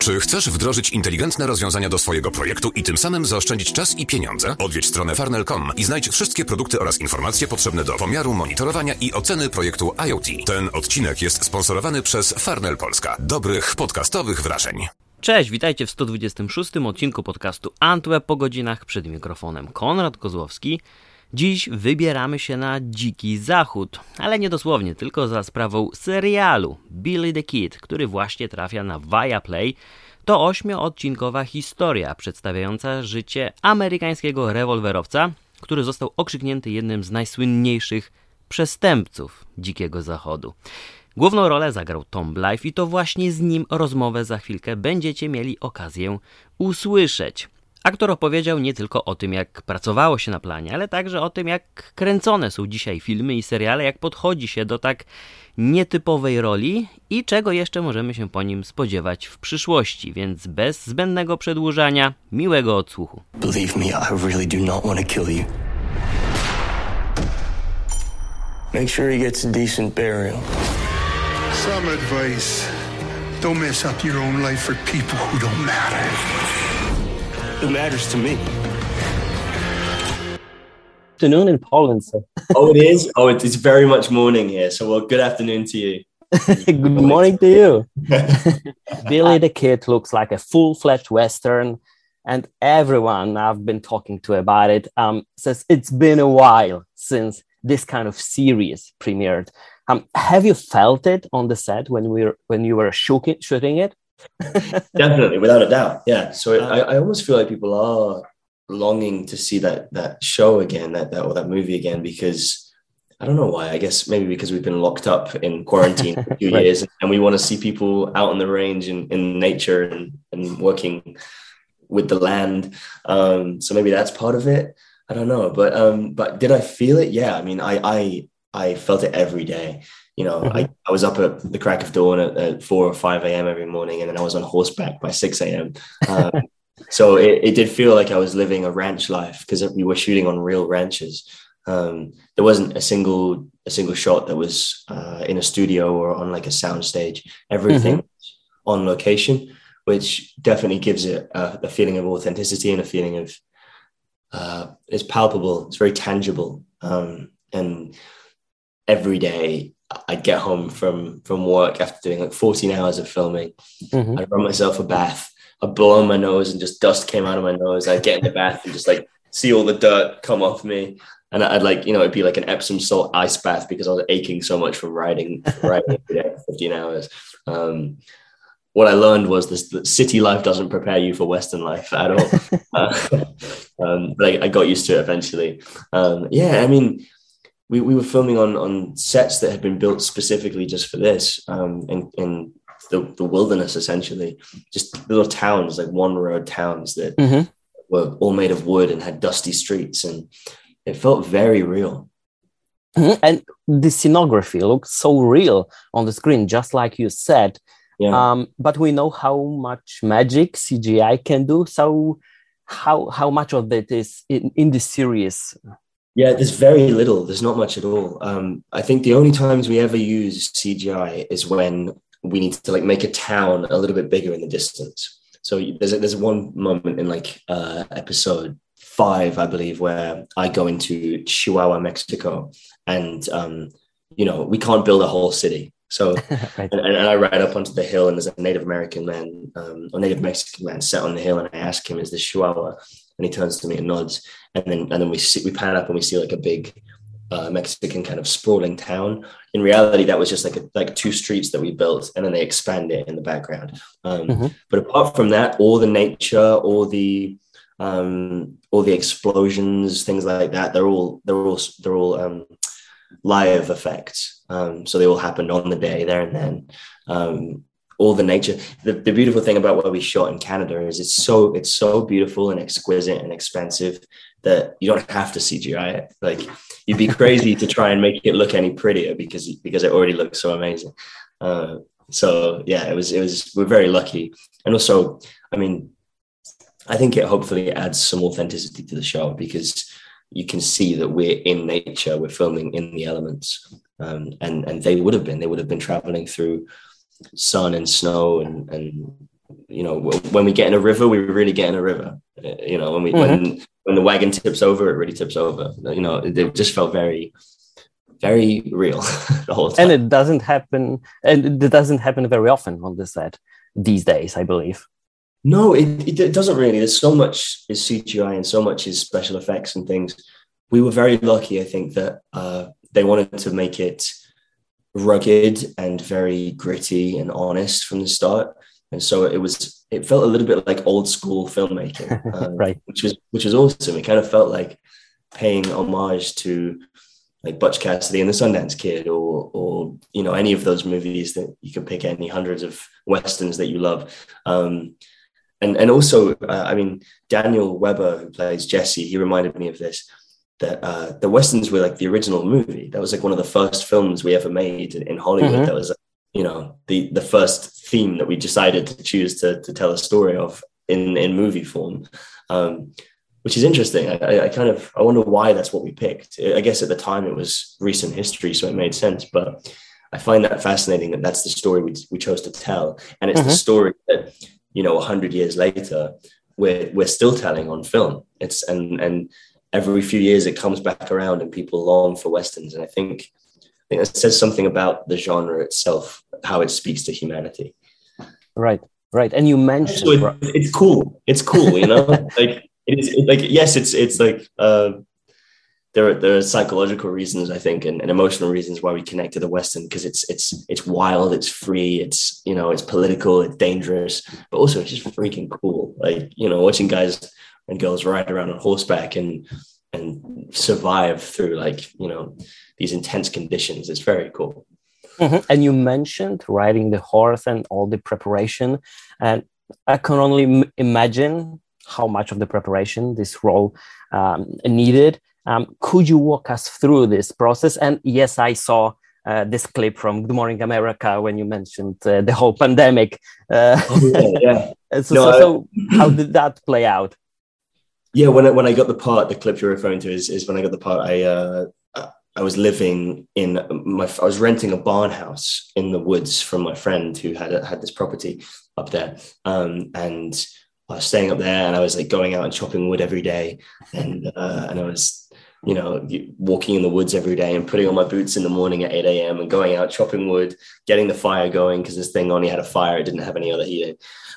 Czy chcesz wdrożyć inteligentne rozwiązania do swojego projektu i tym samym zaoszczędzić czas i pieniądze? Odwiedź stronę Farnell.com i znajdź wszystkie produkty oraz informacje potrzebne do pomiaru, monitorowania i oceny projektu IoT. Ten odcinek jest sponsorowany przez Farnell Polska. Dobrych podcastowych wrażeń. Cześć, witajcie w 126 odcinku podcastu Antweb po godzinach. Przed mikrofonem Konrad Kozłowski. Dziś wybieramy się na dziki zachód, ale nie dosłownie, tylko za sprawą serialu Billy the Kid, który właśnie trafia na Viaplay. To 8-odcinkowa historia przedstawiająca życie amerykańskiego rewolwerowca, który został okrzyknięty jednym z najsłynniejszych przestępców Dzikiego Zachodu. Główną rolę zagrał Tom Blythe i to właśnie z nim rozmowę za chwilkę będziecie mieli okazję usłyszeć. Aktor opowiedział nie tylko o tym, jak pracowało się na planie, ale także o tym, jak kręcone są dzisiaj filmy i seriale, jak podchodzi się do tak nietypowej roli i czego jeszcze możemy się po nim spodziewać w przyszłości. Więc bez zbędnego przedłużania, miłego odsłuchu. Believe me, I really do not want to kill you. Make sure he gets a decent burial. Some advice. Don't mess up your own life for people who don't matter. It matters to me. Afternoon in Poland, sir. Oh, it is? Oh, it's very much morning here. So, well, good afternoon to you. Good morning to you. Billy the Kid looks like a full-fledged Western, and everyone I've been talking to about it says it's been a while since this kind of series premiered. Have you felt it on the set when you were shooting it? Definitely, without a doubt. Yeah. So I almost feel like people are longing to see that show again, that movie again, because I don't know why. I guess maybe because we've been locked up in quarantine for a few Right. years, and we want to see people out on the range in nature and working with the land. So maybe that's part of it. I don't know, but did I feel it? Yeah. I mean, I felt it every day. You know, I was up at the crack of dawn at 4 or 5 a.m. every morning, and then I was on horseback by 6 a.m. So it did feel like I was living a ranch life because we were shooting on real ranches. There wasn't a single shot that was in a studio or on like a sound stage. Everything was on location, which definitely gives it a feeling of authenticity and a feeling of it's palpable. It's very tangible. And every day I'd get home from work after doing like 14 hours of filming. I'd run myself a bath. I'd blow on my nose and just dust came out of my nose. I'd get in the bath and just like see all the dirt come off me. And I'd like, you know, it'd be like an Epsom salt ice bath because I was aching so much from riding every day for 15 hours. What I learned was that city life doesn't prepare you for Western life at all. But I got used to it eventually. Yeah, I mean, we were filming on sets that had been built specifically just for this, in the wilderness, essentially, just little towns, like one road towns that were all made of wood and had dusty streets, and it felt very real. And the scenography looks so real on the screen, just like you said. Yeah. But we know how much magic CGI can do. So how much of that is in the series? Yeah, there's very little. There's not much at all. I think the only times we ever use CGI is when we need to like make a town a little bit bigger in the distance. So there's one moment in like episode 5, I believe, where I go into Chihuahua, Mexico, and you know, we can't build a whole city. So Right. and I ride up onto the hill, and there's a Native American man, or Native Mexican man, sat on the hill, and I ask him, "Is this Chihuahua?" And he turns to me and nods, and then we pan up and we see like a big Mexican kind of sprawling town. In reality, that was just like 2 streets that we built, and then they expand it in the background. But apart from that, all the nature, all the explosions, things like that, they're all live effects. So they all happened on the day there and then. All the nature. The beautiful thing about what we shot in Canada is it's so beautiful and exquisite and expensive that you don't have to CGI it. Like, you'd be crazy to try and make it look any prettier because it already looks so amazing. So yeah, it was we're very lucky. And also, I mean, I think it hopefully adds some authenticity to the show because you can see that we're in nature, we're filming in the elements. And they would have been traveling through sun and snow and when we get in a river, we really get in a river. When the wagon tips over, it really tips over. It just felt very, very real the whole time. And it doesn't happen very often on the set these days, I believe. No, it doesn't really. There's so much is CGI and so much is special effects and things. We were very lucky, I think, that they wanted to make it rugged and very gritty and honest from the start. And so it felt a little bit like old school filmmaking, right? Which was awesome. It kind of felt like paying homage to like Butch Cassidy and the Sundance Kid, or any of those movies that you can pick, any hundreds of westerns that you love. And also, Daniel Weber, who plays Jesse, he reminded me of this, that the westerns were like the original movie. That was like one of the first films we ever made in Hollywood. Mm-hmm. That was, the first theme that we decided to choose to tell a story of in movie form, which is interesting. I wonder why that's what we picked. I guess at the time it was recent history, so it made sense. But I find that fascinating that that's the story we chose to tell. And it's the story that, 100 years later, we're still telling on film. And every few years it comes back around and people long for westerns. And I think it says something about the genre itself, how it speaks to humanity. Right. And you mentioned... So it's cool. It's cool, like it's like, yes, it's like, there are psychological reasons, I think, and emotional reasons why we connect to the Western, because it's wild, it's free, it's political, it's dangerous, but also it's just freaking cool. Like, watching guys and girls ride around on horseback and survive through these intense conditions. It's very cool. Mm-hmm. And you mentioned riding the horse and all the preparation, and I can only imagine how much of the preparation this role needed. Could you walk us through this process? And yes, I saw this clip from Good Morning America when you mentioned the whole pandemic. Yeah. So how did that play out? Yeah, when I got the part, the clip you're referring to is when I got the part. I was living I was renting a barn house in the woods from my friend who had this property up there, and I was staying up there, and I was like going out and chopping wood every day, and I was walking in the woods every day and putting on my boots in the morning at 8 a.m. and going out chopping wood, getting the fire going, because this thing only had a fire, it didn't have any other heating.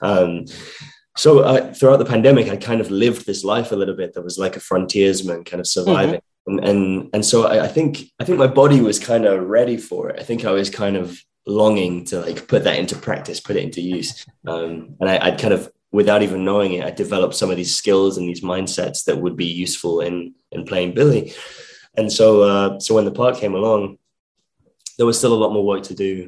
So throughout the pandemic, I kind of lived this life a little bit that was like a frontiersman kind of surviving. Mm-hmm. And so I think my body was kind of ready for it. I think I was kind of longing to like put that into practice, put it into use. And I'd kind of, without even knowing it, I developed some of these skills and these mindsets that would be useful in playing Billy. And so when the part came along, there was still a lot more work to do,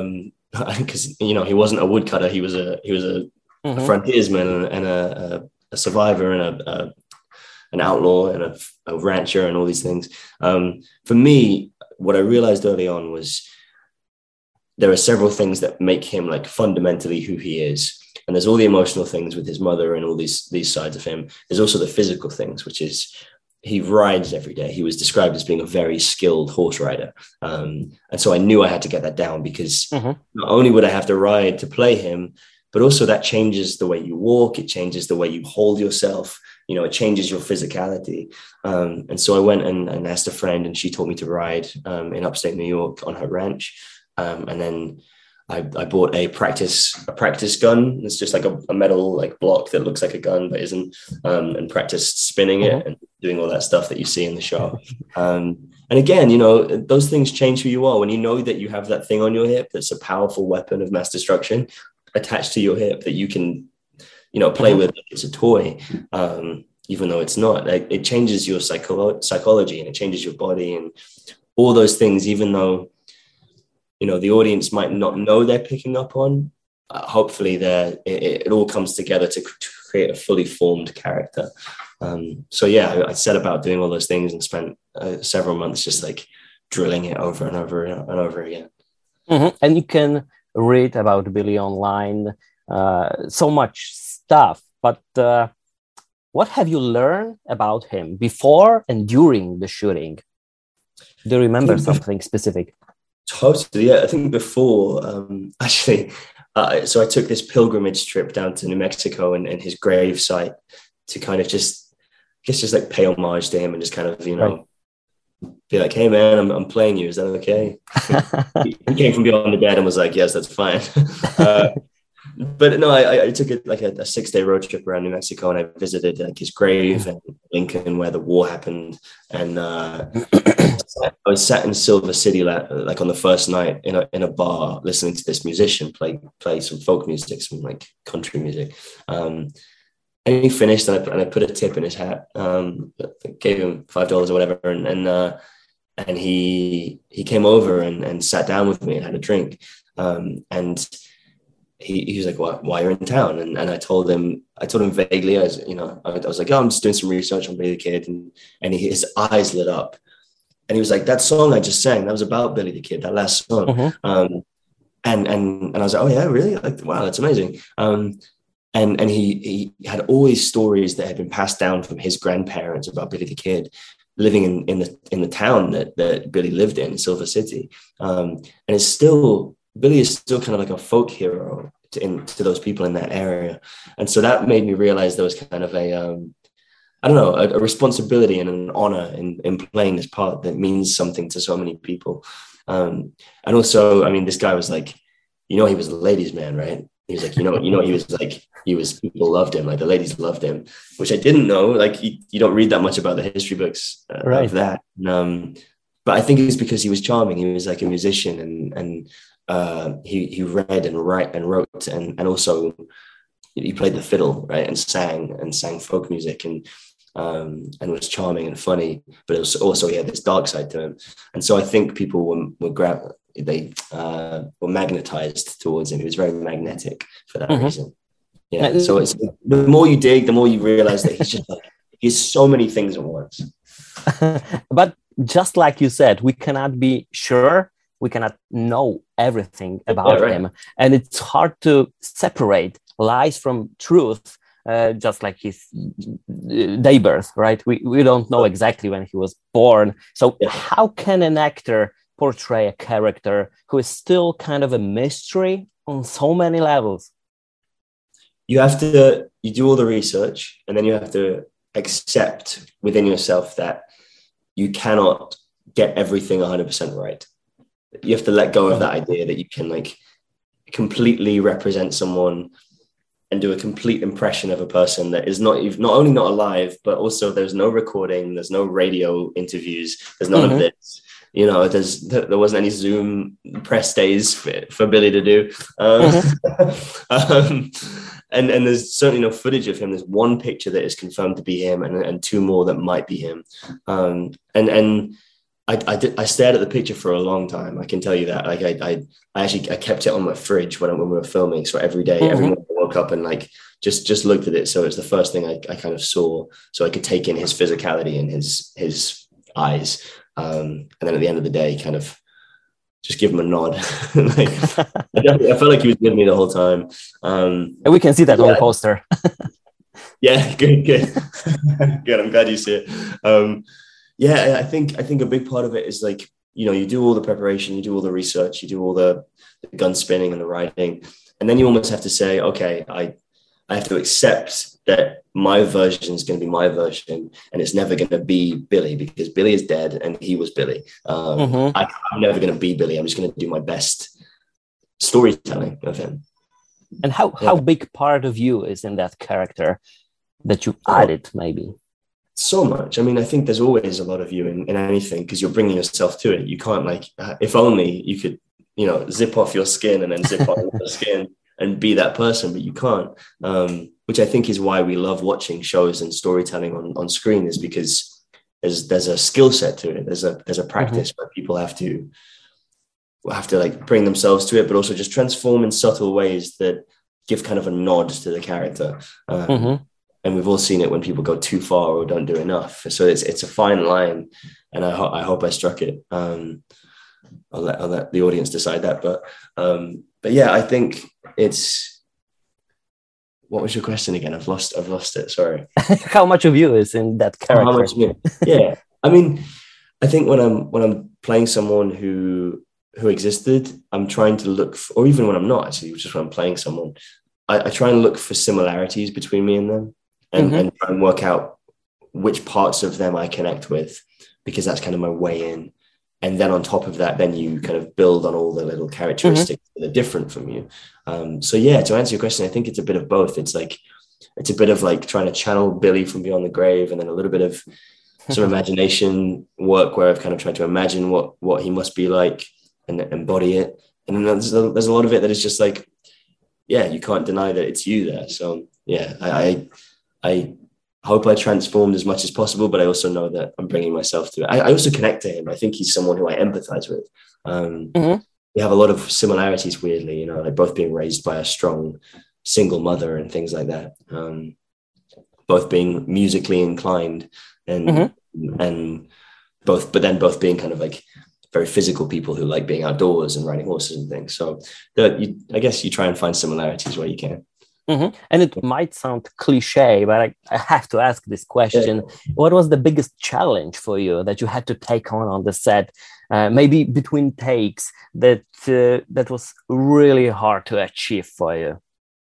because he wasn't a woodcutter. He was a frontiersman and a survivor and an outlaw and a rancher and all these things. For me, what I realized early on was there are several things that make him like fundamentally who he is. And there's all the emotional things with his mother and all these sides of him. There's also the physical things, which is he rides every day. He was described as being a very skilled horse rider. And so I knew I had to get that down, because not only would I have to ride to play him, but also that changes the way you walk. It changes the way you hold yourself. It changes your physicality. And so I went and asked a friend, and she taught me to ride in upstate New York on her ranch. And then I bought a practice gun. It's just like a metal like block that looks like a gun but isn't, and practiced spinning it and doing all that stuff that you see in the show. And again, those things change who you are when you know that you have that thing on your hip that's a powerful weapon of mass destruction attached to your hip that you can, play with like it's a toy, even though it's not. It changes your psychology, and it changes your body and all those things, even though the audience might not know they're picking up on. Hopefully it all comes together to create a fully formed character. So yeah, I set about doing all those things and spent several months just like drilling it over and over and over again. Mm-hmm. And you can read about Billy online, so much stuff, but what have you learned about him before and during the shooting? Do you remember something specific? Totally, yeah. I think before, actually, So I took this pilgrimage trip down to New Mexico and his grave site to kind of just like pay homage to him and just kind of, be like, hey man, I'm playing you. Is that okay? He came from beyond the dead and was like, yes, that's fine. But no, I took it like a 6-day road trip around New Mexico, and I visited like his grave and Lincoln, where the war happened. And I was sat in Silver City like on the first night in a bar, listening to this musician play some folk music, some like country music. And he finished, and I put a tip in his hat. Gave him $5 or whatever, and he came over and sat down with me and had a drink. And he was like, why you're in town? And I told him vaguely, I was like, oh, I'm just doing some research on Billy the Kid. And his eyes lit up. And he was like, that song I just sang, that was about Billy the Kid, that last song. Mm-hmm. And I was like, oh yeah, really? Like, wow, that's amazing. And he had all these stories that had been passed down from his grandparents about Billy the Kid living in the town that Billy lived in, Silver City. And Billy is still kind of like a folk hero to those people in that area. And so that made me realize there was kind of a responsibility and an honor in playing this part that means something to so many people. And also, I mean, this guy was like, he was a ladies' man, right? He was like, people loved him, like the ladies loved him, which I didn't know. Like you don't read that much about the history books of that. But I think it's because he was charming. He was like a musician, and he read and wrote, and also he played the fiddle, right, and sang folk music, and was charming and funny. But it was also, he had this dark side to him, and so I think people were magnetized towards him. He was very magnetic for that reason. Yeah. So it's the more you dig, the more you realize that he's so many things at once. But just like you said, we cannot be sure. We cannot know everything about him. And it's hard to separate lies from truth, just like his day birth, right? We don't know exactly when he was born. So how can an actor portray a character who is still kind of a mystery on so many levels? You do all the research, and then you have to accept within yourself that you cannot get everything 100% right. You have to let go of that idea that you can like completely represent someone and do a complete impression of a person that is not only not alive, but also there's no recording, there's no radio interviews, there's none of this. There wasn't any Zoom press days for Billy to do. And there's certainly no footage of him. There's one picture that is confirmed to be him, and two more that might be him. And I stared at the picture for a long time. I can tell you that. Like I kept it on my fridge when we were filming. So every day, every morning I woke up and like just looked at it. So it's the first thing I kind of saw, so I could take in his physicality and his eyes. And then at the end of the day, kind of just give him a nod. I felt like he was with me the whole time. And we can see that on the poster. Yeah, good. Good. I'm glad you see it. I think a big part of it is like, you do all the preparation, you do all the research, you do all the gun spinning and the writing, and then you almost have to say, okay, I have to accept that my version is going to be my version, and it's never going to be Billy, because Billy is dead and he was Billy. I'm never going to be Billy. I'm just going to do my best storytelling of him. And how big part of you is in that character that you added, maybe? So much. I mean, I think there's always a lot of you in anything, because you're bringing yourself to it. You can't if only you could, zip off your skin and then zip on your skin and be that person, but you can't. Which I think is why we love watching shows and storytelling on screen, is because there's a skill set to it. There's a practice where people have to like bring themselves to it, but also just transform in subtle ways that give kind of a nod to the character. And we've all seen it when people go too far or don't do enough. So it's a fine line, and I hope I struck it. I'll let the audience decide that. But yeah, I think it's. What was your question again? I've lost it. Sorry. How much of you is in that character? How much of me? Yeah. I mean, I think when I'm playing someone who who existed, I'm trying to look for, or even when I'm not actually, just when I'm playing someone, I try and look for similarities between me and them, and try and work out which parts of them I connect with, because that's kind of my way in. And then on top of that, then you kind of build on all the little characteristics that are different from you. So yeah, to answer your question, I think it's a bit of both. It's a bit of like trying to channel Billy from beyond the grave, and then a little bit of some imagination work where I've kind of tried to imagine what he must be like and embody it. And then there's a lot of it that is just like, yeah, you can't deny that it's you there. So yeah, I hope I transformed as much as possible, but I also know that I'm bringing myself to it. I also connect to him. I think he's someone who I empathize with. We have a lot of similarities, weirdly, you know, like both being raised by a strong single mother and things like that. Both being musically inclined and both being kind of like very physical people who like being outdoors and riding horses and things. So I guess you try and find similarities where you can. And it might sound cliche, but I have to ask this question. Yeah. What was the biggest challenge for you that you had to take on the set, maybe between takes, that was really hard to achieve for you?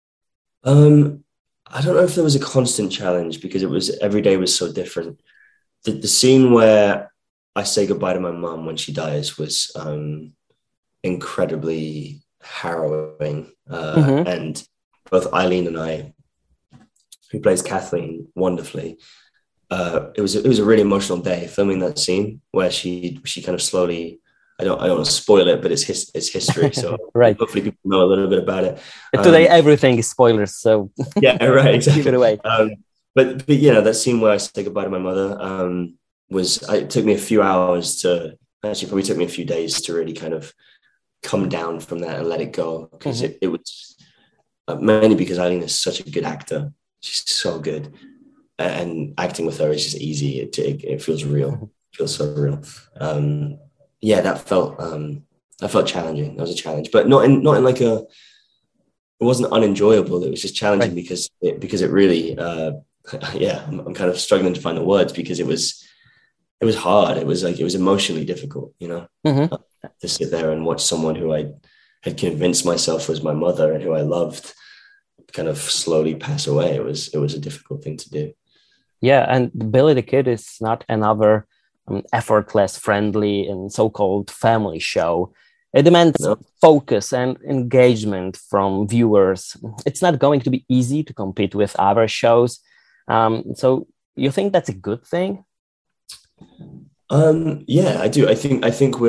I don't know if there was a constant challenge, because every day was so different. The scene where I say goodbye to my mum when she dies was incredibly harrowing. And both Eileen and I, who plays Kathleen wonderfully, it was a really emotional day filming that scene where she kind of slowly, I don't want to spoil it, but it's history. So right. Hopefully people know a little bit about it. Today, everything is spoilers. So yeah, right. Exactly. Give it away. But you know, that scene where I say goodbye to my mother it took me a few hours probably took me a few days to really kind of come down from that and let it go. Because it was mainly because Eileen is such a good actor. She's so good. And acting with her is just easy. It feels real. It feels so real. Yeah, that felt challenging. That was a challenge, but not in like it wasn't unenjoyable. It was just challenging right. because it really, I'm kind of struggling to find the words, because it was hard. It was emotionally difficult, you know, to sit there and watch someone who I had convinced myself was my mother and who I loved kind of slowly pass away. It was a difficult thing to do. Yeah, and Billy the Kid is not another effortless, friendly, and so-called family show. It demands focus and engagement from viewers. It's not going to be easy to compete with other shows. So you think that's a good thing? Yeah, I do. I think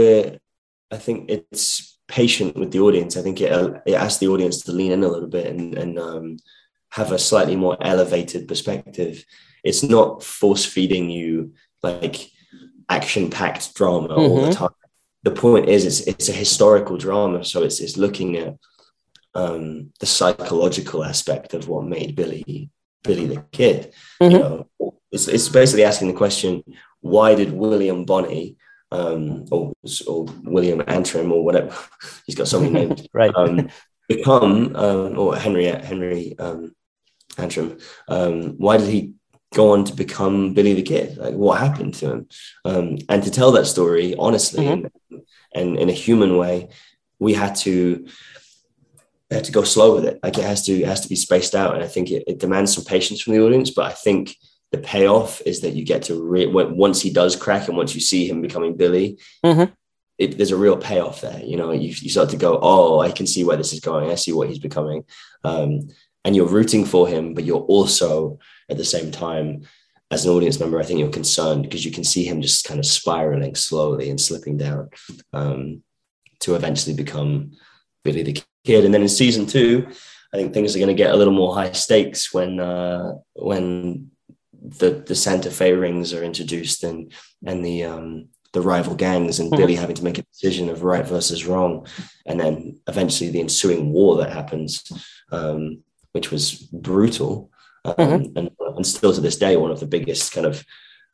it's patient with the audience. I think it asks the audience to lean in a little bit and have a slightly more elevated perspective. It's not force feeding you like action-packed drama all the time. The point is, it's a historical drama, so it's looking at the psychological aspect of what made Billy the Kid. You know, it's basically asking the question: why did William Bonney or William Antrim or whatever, he's got so many names, right? Become or Henry Antrim? Why did he go on to become Billy the Kid? Like, what happened to him? And to tell that story honestly and in a human way, we had to go slow with it. Like, it has to be spaced out, and I think it demands some patience from the audience. But I think the payoff is that you get to once he does crack, and once you see him becoming Billy, there's a real payoff there. You know, you start to go, oh, I can see where this is going. I see what he's becoming. And you're rooting for him, but you're also at the same time, as an audience member, I think you're concerned because you can see him just kind of spiraling slowly and slipping down to eventually become Billy the Kid. And then in season 2, I think things are going to get a little more high stakes when the Santa Fe rings are introduced and the rival gangs and Billy having to make a decision of right versus wrong, and then eventually the ensuing war that happens, which was brutal. And still to this day, one of the biggest kind of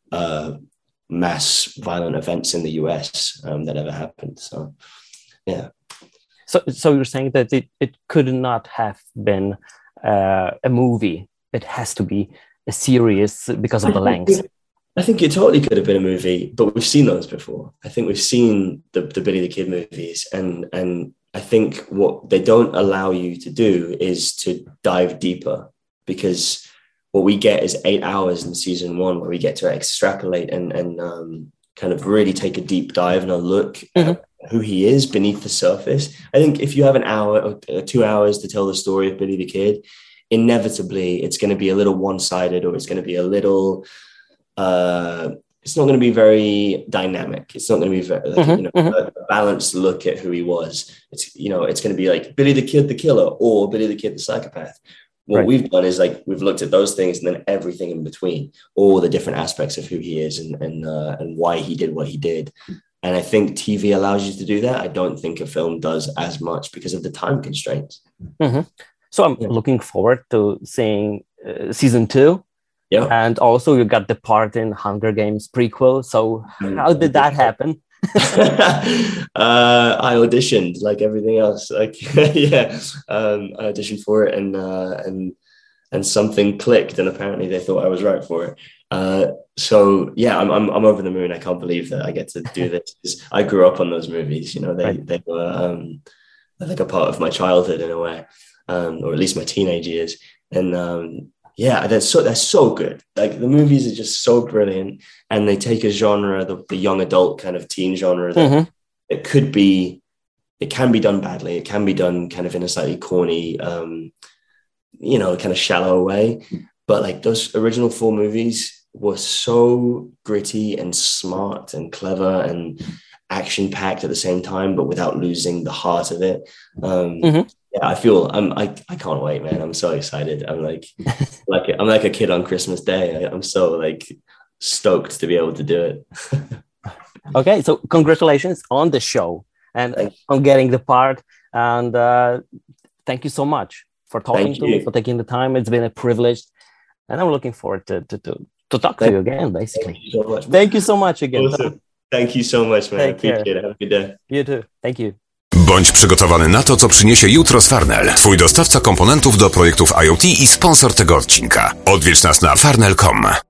mass violent events in the US that ever happened. So, yeah. So you're saying that it could not have been a movie. It has to be a series because of the length. I think it totally could have been a movie, but we've seen those before. I think we've seen the Billy the Kid movies, and I think what they don't allow you to do is to dive deeper, because what we get is 8 hours in season 1 where we get to extrapolate and kind of really take a deep dive and a look at who he is beneath the surface. I think if you have an hour or 2 hours to tell the story of Billy the Kid, inevitably it's going to be a little one-sided, or it's going to be a little it's not going to be very dynamic. It's not going to be very, a balanced look at who he was. It's going to be like Billy the Kid the killer, or Billy the Kid the psychopath. What we've done is like we've looked at those things and then everything in between, all the different aspects of who he is and why he did what he did. And I think TV allows you to do that. I don't think a film does as much because of the time constraints. So I'm looking forward to seeing season 2. Yeah. And also you got the part in Hunger Games prequel. So how did that happen? I auditioned like everything else. Like, I auditioned for it and something clicked, and apparently they thought I was right for it. So yeah, I'm over the moon. I can't believe that I get to do this. I grew up on those movies. They were like a part of my childhood in a way, or at least my teenage years. And they're so good. Like the movies are just so brilliant, and they take a genre, the young adult kind of teen genre that it can be done badly. It can be done kind of in a slightly corny, kind of shallow way. But like those original 4 movies were so gritty and smart and clever and action packed at the same time, but without losing the heart of it. Yeah, I can't wait, man. I'm so excited. I'm like a kid on Christmas Day. I'm so like stoked to be able to do it. Okay, so congratulations on the show and on getting the part. And thank you so much for talking to me, for taking the time. It's been a privilege, and I'm looking forward to talk to you again, basically. Thank you so much. Thank you so much again. Awesome. Thank you so much, man. I appreciate it. Have a good day. You too. Thank you. Bądź przygotowany na to, co przyniesie jutro z Farnell, twój dostawca komponentów do projektów IoT i sponsor tego odcinka. Odwiedź nas na farnell.com.